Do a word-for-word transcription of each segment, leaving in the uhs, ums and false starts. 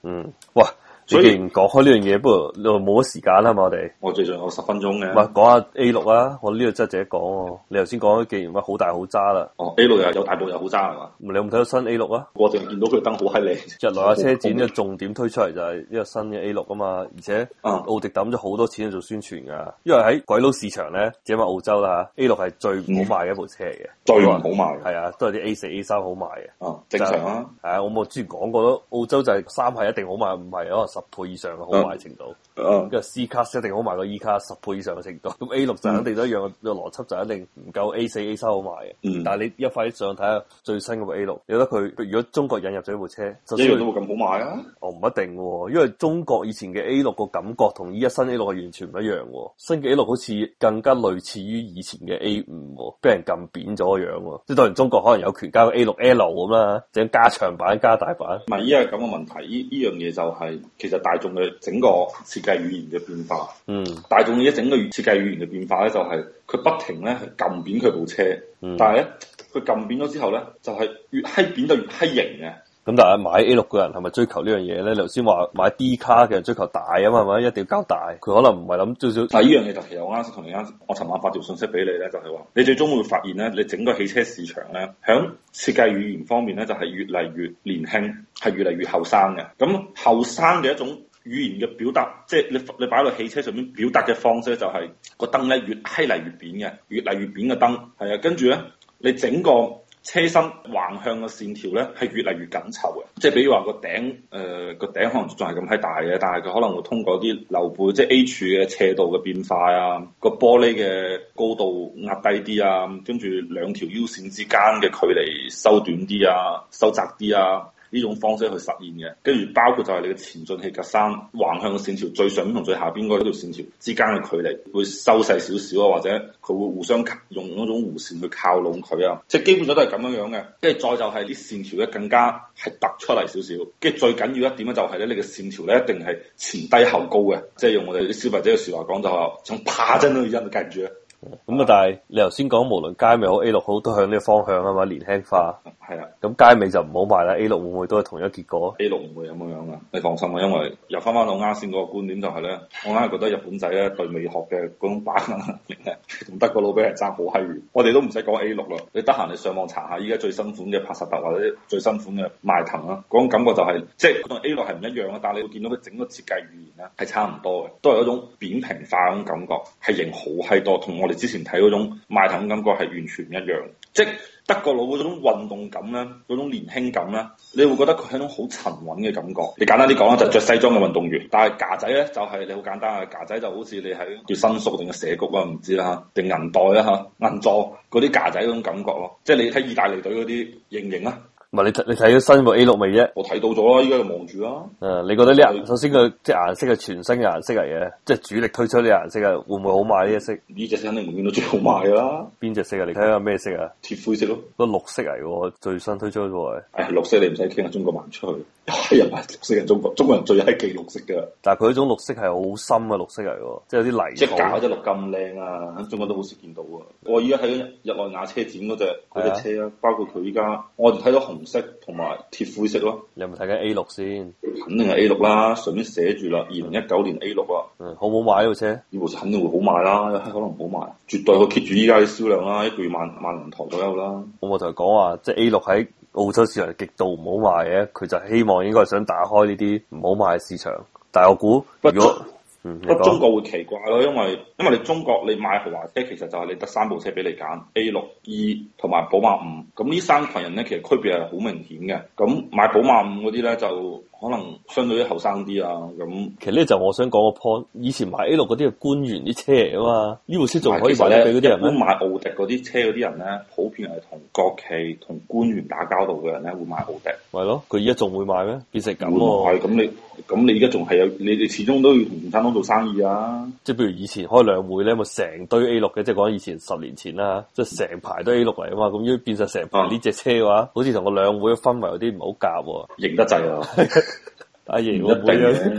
嗯，哇！所以既然講開呢樣嘢，不過你冇乜時間啦嘛，我哋我最近有十分鐘嘅。 唔係講下 A 六啊，我呢度真係值得講喎。你頭先講，既然話好大好渣啦， 哦 A 六又有大部又好渣係嘛？ 你有冇睇到新 A 六啊？ 我淨係見到佢燈好閪靚。 日內瓦車展嘅重點推出嚟就係呢個新嘅 A 六啊嘛，而且奧迪抌咗好多錢去做宣傳噶，因為喺鬼佬市場咧，只係話澳洲啦 A 六係最唔好賣嘅一部車嚟嘅， 最唔好賣係啊，都係啲 A 四 A 三好賣嘅。 哦，正常啊。 係啊，我冇之前講過咯，澳洲就係三係一定好賣，唔係可能十倍以上嘅好賣程度。 嗯， 跟住 C 卡一定好賣過 E 卡十倍以上嘅程度，咁 A 六就肯定都一樣嘅邏輯，就一定唔夠 A 四 A 三好賣嘅。 嗯， 但係你一快啲上睇下最新嗰部 A 六，你覺得佢如果中國引入咗呢部車， 一樣都會咁好賣啊？ 哦，唔一定喎，因為中國以前嘅 A 六個感覺同依家新 A 六係完全唔一樣喎。新嘅 A 六好似更加類似於以前嘅 A 五，俾人撳扁咗個樣喎。即係當然中國可能有權加個 A 六 L 咁啦，整加長版加大版。 唔係依家係咁嘅問題，依依樣嘢就係、是、其實大眾嘅整個設計語言嘅變化。 嗯， 大眾嘅整個設計語言嘅變化咧，就係佢不停咧係撳扁佢部車，嗯、但係咧佢撳扁咗之後咧，就係、是、越閪扁就越閪型嘅。 咁但係買 A 六嘅人係咪追求呢樣嘢咧？你頭先話買 D 卡嘅人追求大啊嘛，係咪一定要交大？佢可能唔係諗最少。 但係呢樣嘢就其實我啱先同你啱，我尋晚發條信息俾你咧，就係、是、話你最終會發現咧，你整個汽車市場咧，響設計語言方面咧，就係、是、越嚟越年輕，係越嚟越後生嘅。咁後生嘅一種語言嘅表達，即係你你擺落汽車上面表達嘅方式，就係個燈咧越閪嚟越扁嘅，越嚟越扁嘅燈，係啊，跟住咧你整個車身橫向嘅線條咧係越嚟越緊湊嘅，即係比如話個頂誒個頂可能仲係咁閪大嘅，但係佢可能會通過啲溜背，即係 A 柱嘅斜度嘅變化啊，個玻璃嘅高度壓低啲啊，跟住兩條腰線之間嘅距離收短啲啊，收窄啲啊。呢種方式去實現嘅，跟住包括就係你嘅前進氣格栅橫向嘅線條最上面同最下邊嗰條線條之間嘅距離會收細少少啊，或者佢會互相用嗰種弧線去靠攏佢啊，即係基本上都係咁樣樣嘅。跟住再就係啲線條咧更加係突出嚟少少，跟住最緊要一點咧就係咧你嘅線條咧一定係前低後高嘅，即係用我哋啲消費者嘅説話講就係想爬真都要因跟住咧。 咁啊！但係你頭先講無論佳美好 A 六好都向呢個方向啊嘛，年輕化。 係啊， 咁佳美就唔好賣啦 ，A 六會唔會都係同一結果 ？A 六唔會咁樣樣噶，你放心啊，因為又翻翻到啱先嗰個觀點就係、是、咧，我硬係覺得日本仔咧對美學嘅嗰種把握能力咧，同德國佬俾人爭好閪遠。我哋都唔使講 A 六啦，你得閒你上網查下依家最新款嘅帕薩特或者最新款嘅邁騰啦，嗰種感覺就係、是、即係同 A 六係唔一樣啊，但係你會見到佢整個設計語言咧係差唔多嘅，都係一種扁平化嗰種感覺，係型好閪多，同我哋之前睇嗰種邁騰感覺係完全唔一樣，即係德國佬嗰種運動感咧，嗰種年輕感咧，你會覺得佢係一種好沉穩嘅感覺。你簡單啲講啦，就着西裝嘅運動員，但係架仔咧就係、是、你好簡單啊，架仔就好似你喺叫新宿定係蛇谷啊，唔知啦定銀代啦嚇，銀座嗰啲架仔嗰種感覺咯，即係你睇意大利隊嗰啲型唔型啊？ 唔係你睇你睇咗新部 A 六未啫？ 我睇到咗啦，依家就望住啦。 誒，你覺得呢顏首先佢即係顏色係全新嘅顏色嚟嘅，即係主力推出呢顏色啊，會唔會好賣呢隻色？ 呢隻色肯定會見到最好賣噶啦。 邊隻色啊？你睇下咩色啊？ 鐵灰色咯， 個綠色嚟嘅，最新推出嘅喎。 誒、哎，綠色你唔使傾啊，中國賣唔出去。係人賣綠色嘅中國，中國人最係忌綠色嘅。 但係佢呢種綠色係好深嘅綠色嚟嘅，即係有啲泥土。 即係搞隻綠咁靚啊！喺中國都好少見到啊！我依家睇緊日內瓦車展嗰隻嗰隻車啊，包括佢依家，我哋睇到紅色同埋鐵灰色咯。 你有冇睇緊 A 六先？ 肯定係 A 六啦，上面寫住啦，二零一九年 A 六啊。 嗯，好唔好買呢部車？ 呢部車肯定會好賣啦，有可能好賣，絕對可以 keep 住依家嘅銷量啦，一個月萬萬零台左右啦。 咁我就係講話，即係 A 六喺澳洲市場極度唔好賣嘅，佢就希望應該係想打開呢啲唔好賣嘅市場。但係我估，如果嗯，不過中國會奇怪咯，因為因為你中國你買豪華車其實就係你得三部車俾你揀 A 六、E 同埋寶馬五，咁呢三群人咧其實區別係好明顯嘅。咁買寶馬五嗰啲咧就可能相對於後生啲啊，咁其實呢就我想講個 point，以前買 A 六嗰啲係官員啲車嚟啊嘛，呢部車仲可以賣得俾嗰啲人咩？ 買奧迪嗰啲車嗰啲人咧，普遍係同國企同官員打交道嘅人咧會買奧迪。 係咯，佢而家仲會買咩？變成咁喎。 係咁你咁你而家仲係有你哋始終都要同共產黨做生意啊！ 即係譬如以前開兩會咧，咪成堆 A 六嘅，即係講以前十年前啦，即係成排都 A 六嚟啊嘛，咁如果變晒成排呢隻車嘅話，嗯、好似同個兩會嘅氛圍有啲唔好夾喎， 型得滯啊！ 阿爺唔一定嘅，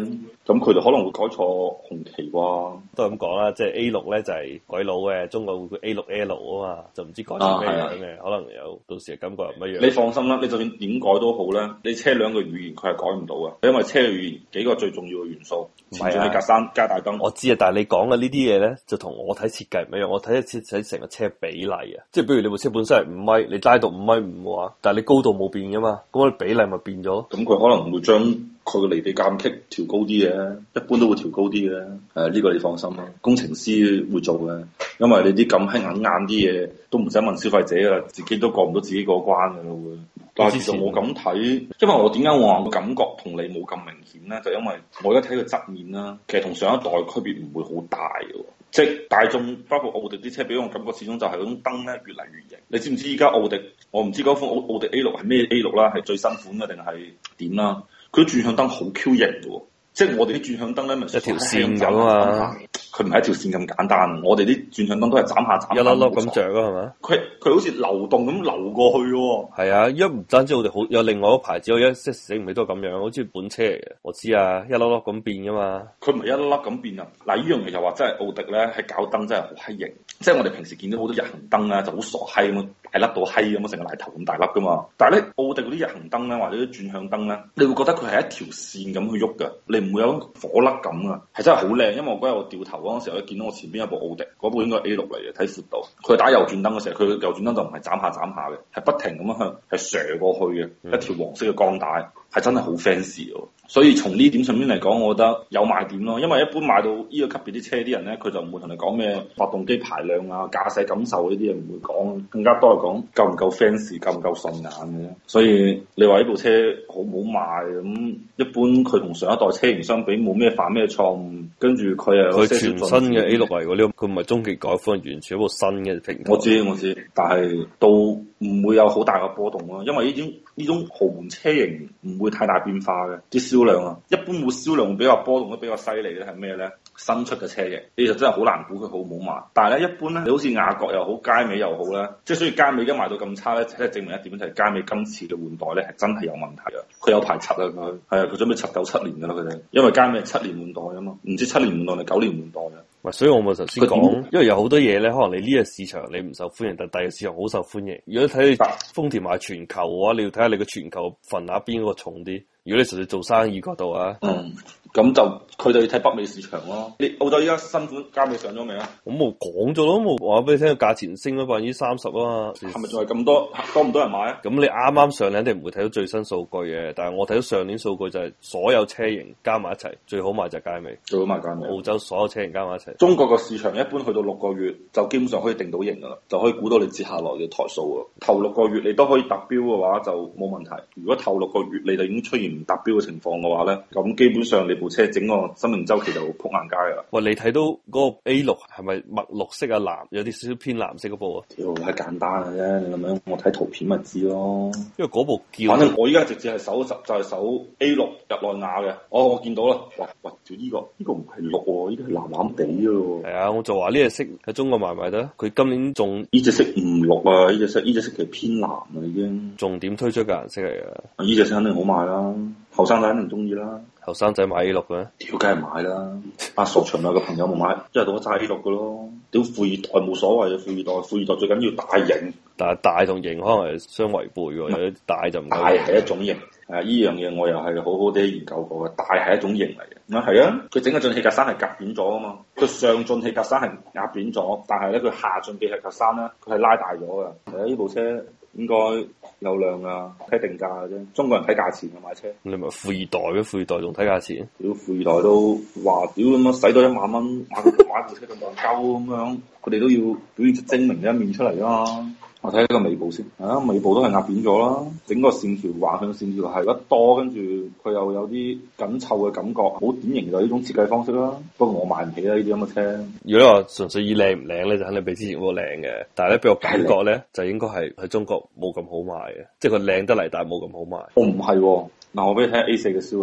咁佢哋可能會改錯紅旗啩？ 都係咁講啦，即係 A 六咧就係鬼佬嘅，中國會叫 A 六 L 啊嘛，就唔知改成咩樣嘅，啊、可能有到時嘅感覺唔一樣。 你放心啦，你就算點改都好咧，你車輛嘅語言佢係改唔到嘅，因為車嘅語言幾個最重要嘅元素，前進氣格柵加大燈。 我知啊，但係你講嘅呢啲嘢咧，就同我睇設計唔一樣。我睇設睇成個車比例啊，即係比如你部車本身係五米，你拉到五米五嘅話，但係你高度冇變噶嘛，咁我比例咪變咗。 咁佢可能會將佢嘅離地間隙調高啲嘅，一般都會調高啲嘅。誒、呃，呢、這個你放心啦，工程師會做嘅，因為你啲咁輕硬硬啲嘢都唔使問消費者噶，自己都過唔到自己嗰關噶啦會。但係其實我咁睇，因為我點解我話個感覺同你冇咁明顯咧？就因為我而家睇個側面啦，其實同上一代區別唔會好大嘅。即係大眾包括奧迪啲車，俾我感覺始終就係嗰種燈咧越嚟越型。你知唔知依家奧迪？我唔知嗰款奧奧迪 A 六係咩 A 六啦，係最新款嘅定係點啦？佢轉向燈好 Q 型嘅，即係我哋啲轉向燈咧咪一條線咁啊！ 佢唔係一條線咁簡單，我哋啲轉向燈都係斬下斬下， 一粒粒咁着啊，係咪？ 佢佢好似流動咁流過去嘅。係啊，一唔單止我哋好有另外一個牌子，我一即係醒唔起都係咁樣，好似本車嚟嘅。我知啊，一粒粒咁變噶嘛。佢唔係一粒粒咁變啊！嗱，呢樣嘢就話真係奧迪咧，係搞燈真係好閪型。即係我哋平時見到好多日行燈咧，就好傻閪咁，大粒到閪咁，成個奶頭咁大粒噶嘛。但係咧，奧迪嗰啲日行燈咧，或者啲轉向燈咧，你會覺得佢係一條線咁去喐嘅，你唔會有火粒感啊，係真係好靚。因為我嗰日我掉頭嗰陣時候咧，見到我前邊有部奧迪，嗰部應該係 A 六嚟嘅，睇闊度。佢打右轉燈嘅時候，佢右轉燈就唔係斬下斬下嘅，係不停咁樣向係射過去嘅，嗯、一條黃色嘅鋼帶，係真係好 fancy 嘅。所以從呢點上面嚟講，我覺得有賣點咯。因為一般買到呢個級別啲車啲人咧，佢就唔會同你講咩發動機排量啊、駕駛感受呢啲嘢唔會講，更加多係講夠唔夠 fancy、夠唔夠順眼嘅。所以你話呢部車好唔好賣咁？一般佢同上一代車型相比冇咩犯咩錯誤，跟住佢又佢全新嘅 A 六嚟喎，呢佢唔係中期改款，完全一部新嘅平台。我知我知，但係都唔會有好大嘅波動咯，因為呢種呢種豪門車型唔會太大變化嘅啲銷量啊，一般會銷量會比較波動得比較犀利咧係咩咧？新出嘅車型，其實真係好難估佢好唔好賣。但係咧，一般咧，你好似雅閣又好，佳美又好咧，即係所以佳美而家賣到咁差咧，即係證明一點就係佳美今次嘅換代咧係真係有問題啊！佢有排拆啊佢，係啊，佢準備拆九七年噶啦佢哋，因為佳美係七年換代啊嘛，唔知七年換代定九年換代啊。所以我咪頭先講，因為有好多嘢咧，可能你呢個市場你唔受歡迎，但第二個市場好受歡迎。如果睇你豐田賣全球嘅話，你要睇下你個全球份額邊個重啲。如果你純粹做生意嗰度啊，嗯，咁就佢哋要睇北美市場咯。你澳洲依家新款佳美上咗未啊？我冇講咗咯，冇話俾你聽，價錢升咗百分之三十啊嘛。係咪仲係咁多多唔多人買啊？咁你啱啱上你肯定唔會睇到最新數據嘅，但係我睇到上年數據就係所有車型加埋一齊，最好賣就係佳美，最好賣佳美。澳洲所有車型加埋一齊。中國個市場一般去到六個月就基本上可以定到型噶啦，就可以估到你接下來嘅台數啊。頭六個月你都可以達標嘅話就冇問題。如果頭六個月你就已經出現唔達標嘅情況嘅話咧，咁基本上你部車整個生命周期就撲硬街噶啦。喂，你睇到嗰個 A 六係咪墨綠色啊藍，有啲少少偏藍色嗰部啊？屌，係簡單嘅啫，你咁樣我睇圖片咪知咯。因為嗰部叫，反正我依家直接係搜就係搜 A 六日內瓦嘅。哦，我見到啦。哇喂，屌呢個呢個唔係綠喎，呢個係藍藍地嘅。係啊，我就話呢隻色喺中國賣唔賣得？佢今年仲呢隻色唔綠啊，呢隻色呢隻色其實偏藍啊已經。重點推出嘅顏色嚟嘅。呢隻色肯定好賣啦。後生仔肯定中意啦，後生仔買 A 六嘅，屌梗係買啦。阿傻長有個朋友冇買，一係到我揸 A 六嘅咯。屌富二代冇所謂嘅，富二代富二代最緊要大型，但係大同型可能係相違背嘅，有啲大就唔大係一種型。誒，呢樣嘢我又係好好地研究過嘅，大係一種型嚟嘅。啊係啊，佢整個進氣格柵係夾扁咗啊嘛，佢上進氣格柵係壓扁咗，但係咧佢下進氣格柵咧佢係拉大咗嘅。係啊，呢部車應該有量啊，睇定價嘅啫。中國人睇價錢嘅買車，你咪富二代嘅富二代仲睇價錢？屌富二代都話屌咁樣使多一萬蚊買買部車咁戇鳩咁樣，佢哋都要表現出精明嘅一面出嚟啊嘛。我睇呢個尾部先，啊尾部都係壓扁咗啦，整個線條橫向線條係得多，跟住佢又有啲緊湊嘅感覺，好典型就係呢種設計方式啦。不過我買唔起啦呢啲咁嘅車。如果你話純粹以靚唔靚咧，就肯定比之前嗰個靚嘅。但係咧，俾我感覺咧，就應該係喺中國冇咁好賣嘅，即係佢靚得嚟，但係冇咁好賣。我唔係喎，嗱我俾你睇下 A 四嘅銷量。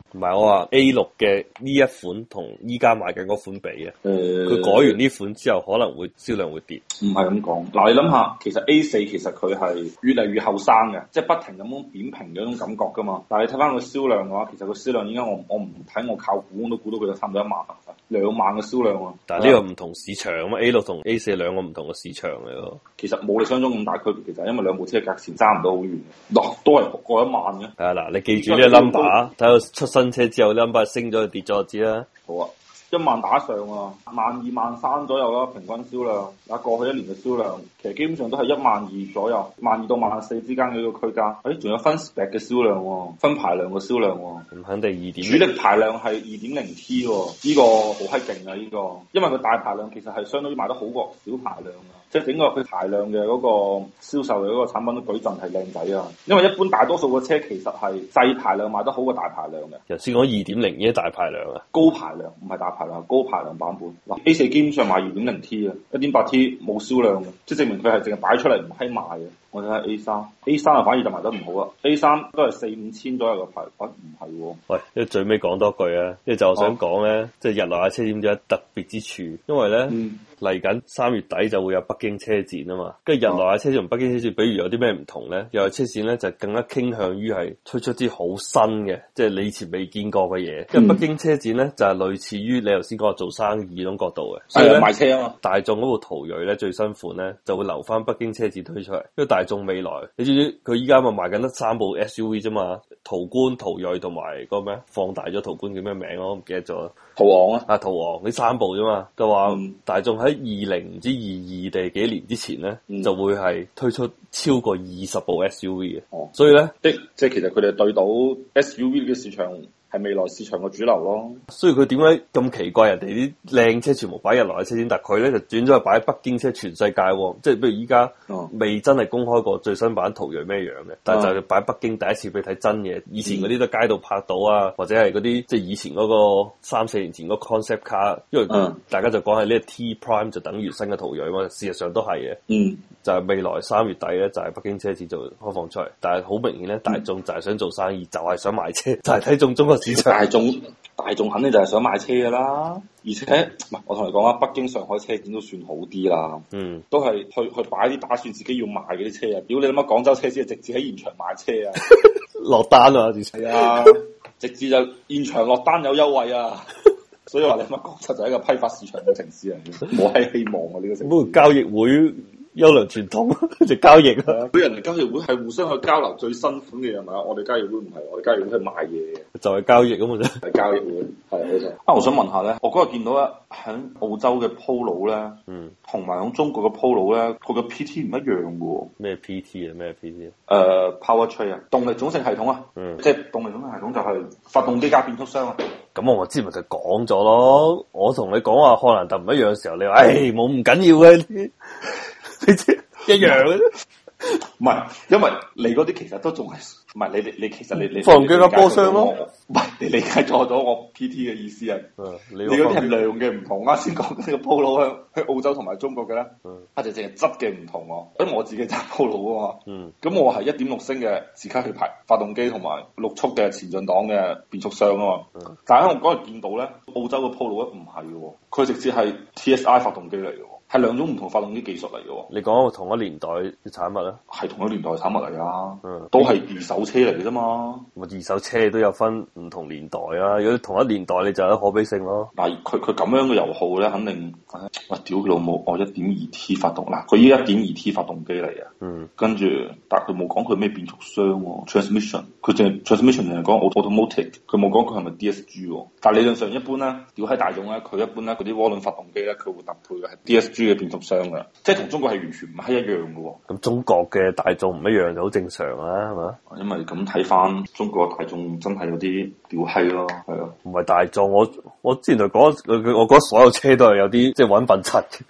唔係我話 A 六嘅呢一款同依家賣緊嗰款比啊， 誒、呃， 佢改完呢款之後可能會銷量會跌。 唔係咁講。嗱，你諗下，其實 A 四其實佢係越嚟越後生嘅，即係不停咁樣扁平嘅一種感覺噶嘛。但係你睇翻個銷量嘅話，其實個銷量依家我我唔睇我靠估我都估到佢有差唔多一萬啊，兩萬嘅銷量啊。 但係呢個唔同市場啊嘛，A 六同 A 四兩個唔同嘅市場嚟咯。 其實冇你想像中咁大區別，其實因為兩部車嘅價錢爭唔到好遠，嗱都係過一萬嘅。 係啊，嗱，你記住呢個 number，睇到出新車之後 number 升咗跌咗就知啦。 好啊。一萬打上啊，萬二萬三左右啦，平均銷量。嗱，過去一年嘅銷量，其實基本上都係一萬二左右，萬二到萬四之間嘅一個區間。誒、哎，仲有分 spec 嘅銷量喎，分排量嘅銷量喎。 咁肯定二點。 主力排量係二點零 T 喎，呢個好閪勁啊！呢個，因為佢大排量其實係相當於賣得好過小排量啊。即係整個佢排量嘅嗰個銷售嘅嗰個產品都舉陣係靚仔啊！因為一般大多數嘅車其實係細排量賣得好過大排量嘅。 頭先講二點零已經大排量啊， 高排量唔係大排量，高排量版本。嗱 A 四基本上賣二點零 T 啊，一點八 T 冇銷量嘅，即係證明佢係淨係擺出嚟唔閪賣嘅。我睇下 A 三，A 三啊反而就賣得唔好啊。A 三都係四五千左右嘅排，喂唔係喎。 喂，因為最尾講多句啊，因為就我想講咧，啊、即係日內瓦車展有特別之處，因為咧嚟緊三月底就會有北京車展啊嘛，跟住日內瓦車展同北京車展，比如有啲咩唔同咧？日內瓦車展咧就更加傾向於係推出啲好新嘅，即係你以前未見過嘅嘢。因為、嗯、北京車展咧就係、是、類似於你頭先講做生意嗰種角度嘅，所以咧賣車啊嘛。大眾嗰部途銳咧最新款咧就會留翻北京車展推出嚟，因為大眾未來你知唔知佢依家咪賣緊得三部 S U V 啫嘛？途觀、途銳同埋嗰個咩？放大咗途觀叫咩名我唔記得咗。 途昂啊， 啊途昂呢三部啫嘛，就話大眾喺二零唔知二二定幾年之前咧，嗯、就會係推出超過二十部 S U V 嘅。哦，所以咧， 即即係其實佢哋對到 S U V 嘅市場。係未來市場嘅主流咯， 所以佢點解咁奇怪？人哋啲靚車全部擺日內瓦車展，但係佢咧就轉咗去擺喺北京車全世界喎。即係譬如依家未真係公開過最新版途銳咩樣嘅，但係就擺北京第一次俾你睇真嘢。以前嗰啲都街度拍到啊，或者係嗰啲即係以前嗰個三四年前嗰個 concept car，因為大家就講係呢個 T Prime 就等於新嘅途銳嘛，事實上都係嘅。嗯，就係未來三月底咧，就係北京車展就開放出嚟。但係好明顯咧，大眾就係想做生意，就係想買車，就係睇中中國。 大眾大眾肯定就係想買車噶啦，而且唔係我同你講啊，北京、上海車展都算好啲啦，嗯，都係去去擺啲打算自己要賣嗰啲車啊！屌你諗下廣州車展直接喺現場賣車啊， 落單啊，係啊，直接就現場落單有優惠啊！所以話你諗下廣州就係一個批發市場嘅城市嚟嘅，冇閪希望啊呢、這個城市。 不過交易會。優良傳統就交易啊！ 佢人哋交易會係互相去交流最新款嘅嘢嘛，我哋交易會唔係，我哋交易會係賣嘢嘅， 就係交易咁嘅啫。 係交易會，係冇錯。啊，我想問下咧，我嗰日見到咧喺澳洲嘅 Polo 咧，嗯，同埋喺中國嘅 Polo 咧，佢嘅 P T 唔一樣嘅喎。 咩 P T 啊？咩 P T 啊？誒、uh,，Powertrain 啊，動力總成系統啊，嗯，即係動力總成系統就係發動機加變速箱啊。 咁我之前咪就講咗咯，我同你講話漢蘭達唔一樣嘅時候，你話誒冇唔緊要嘅。你知一樣嘅啫， 唔係，因為你嗰啲其實都仲係，唔係你你你其實你你發動機加波箱咯， 唔係你理解錯咗我 P T 嘅意思啊，嗯、你嗰啲係量嘅唔同啊，先講呢個 Polo 喺喺澳洲同埋中國嘅咧，啊就淨係質嘅唔同喎，因為我自己揸 Polo 啊嘛，嗯，咁我係一點六升嘅自吸氣排發動機同埋六速嘅前進檔嘅變速箱啊嘛，嗯、但係我嗰日見到咧，澳洲嘅 Polo 咧唔係嘅，佢直接係 T S I 發動機嚟嘅。係兩種唔同發動機技術嚟嘅。你講同一年代嘅產物咧？ 係同一年代嘅產物嚟啊，嗯，都係二手車嚟嘅啫嘛。 咁二手車都有分唔同年代啊。如果同一年代，你就有可比性咯。 但係佢佢咁樣嘅油耗咧，肯定喂屌佢老母，我一點二 T 發動嗱，佢依一點二 T 發動機嚟啊。嗯，跟住但係佢冇講佢咩變速箱喎 ，transmission，佢淨係 transmission 淨係講 automatic，佢冇講佢係咪 D S G 喎。但係理論上一般咧，屌喺大眾咧，佢一般咧嗰啲渦輪發動機咧，佢會搭配嘅係 D S G。嘅變速箱嘅，即係同中國係完全唔係一樣嘅喎。 咁中國嘅大眾唔一樣就好正常啦，係嘛？ 因為咁睇翻中國大眾真係有啲屌閪咯，係啊。 唔係大眾，我我之前就講，我覺得所有車都係有啲即係揾笨柒嘅。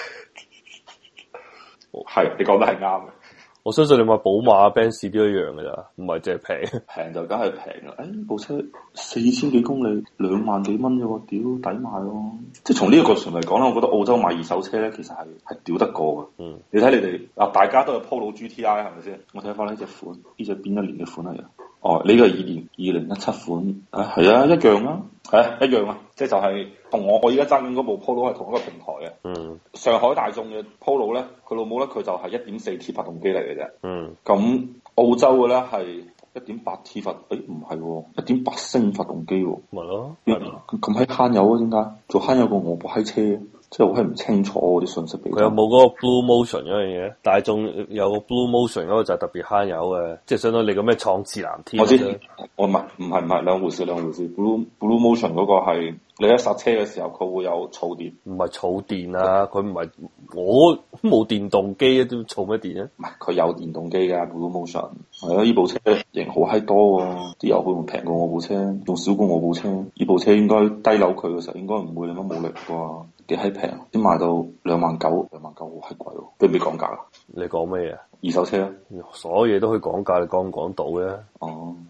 係，你講得係啱嘅。 我相信你買寶馬、Benz 都一樣嘅咋，唔係淨係平， 平就梗係平啦。誒、哎，部車四千幾公里，兩萬幾蚊啫喎，屌抵買咯。即係從呢個角度上嚟講咧，我覺得澳洲買二手車咧，其實係係屌得過嘅。嗯，你睇你哋嗱，大家都係 Polo G T I 係咪先？我睇翻呢隻款，呢隻邊一年嘅款嚟嘅？ 哦，呢個係二零二零一七款啊，係啊，一樣啊，係啊，一樣啊，即係就係同我我而家揸緊嗰部 Polo 係同一個平台嘅。 嗯， 上海大眾嘅 Polo 咧，佢老母咧佢就係一點四 T 發動機嚟嘅啫。 嗯， 咁澳洲嘅咧係一點八 T 發，誒唔係，一點八升發動機喎。 咪咯， 咁閪慳油啊？點解？做慳油過我部閪車？即係我係唔清楚嗰啲信息俾佢。 佢有冇嗰個 Blue Motion 嗰樣嘢？大眾有個 Blue Motion 嗰個就係特別慳油嘅，即係相當於你個咩創智藍天。 我知，我唔係唔係唔係兩回事兩回事。Blue Blue Motion 嗰個係你一剎車嘅時候佢會有儲電， 唔係儲電啊！佢唔係我冇電動機啊，都儲乜電啊？ 唔係佢有電動機㗎 Blue Motion。係啊，呢部車型好閪多喎，啲油會唔會平過我部車？仲少過我部車？呢部車應該低扭佢嘅時候應該唔會咁樣冇力啩。幾閪平，先賣到兩萬九，兩萬九好閪貴喎，俾唔俾講價啊？ 你講咩嘢？ 二手車啊？ 所有嘢都可以講價，你講唔講到嘅？ 哦。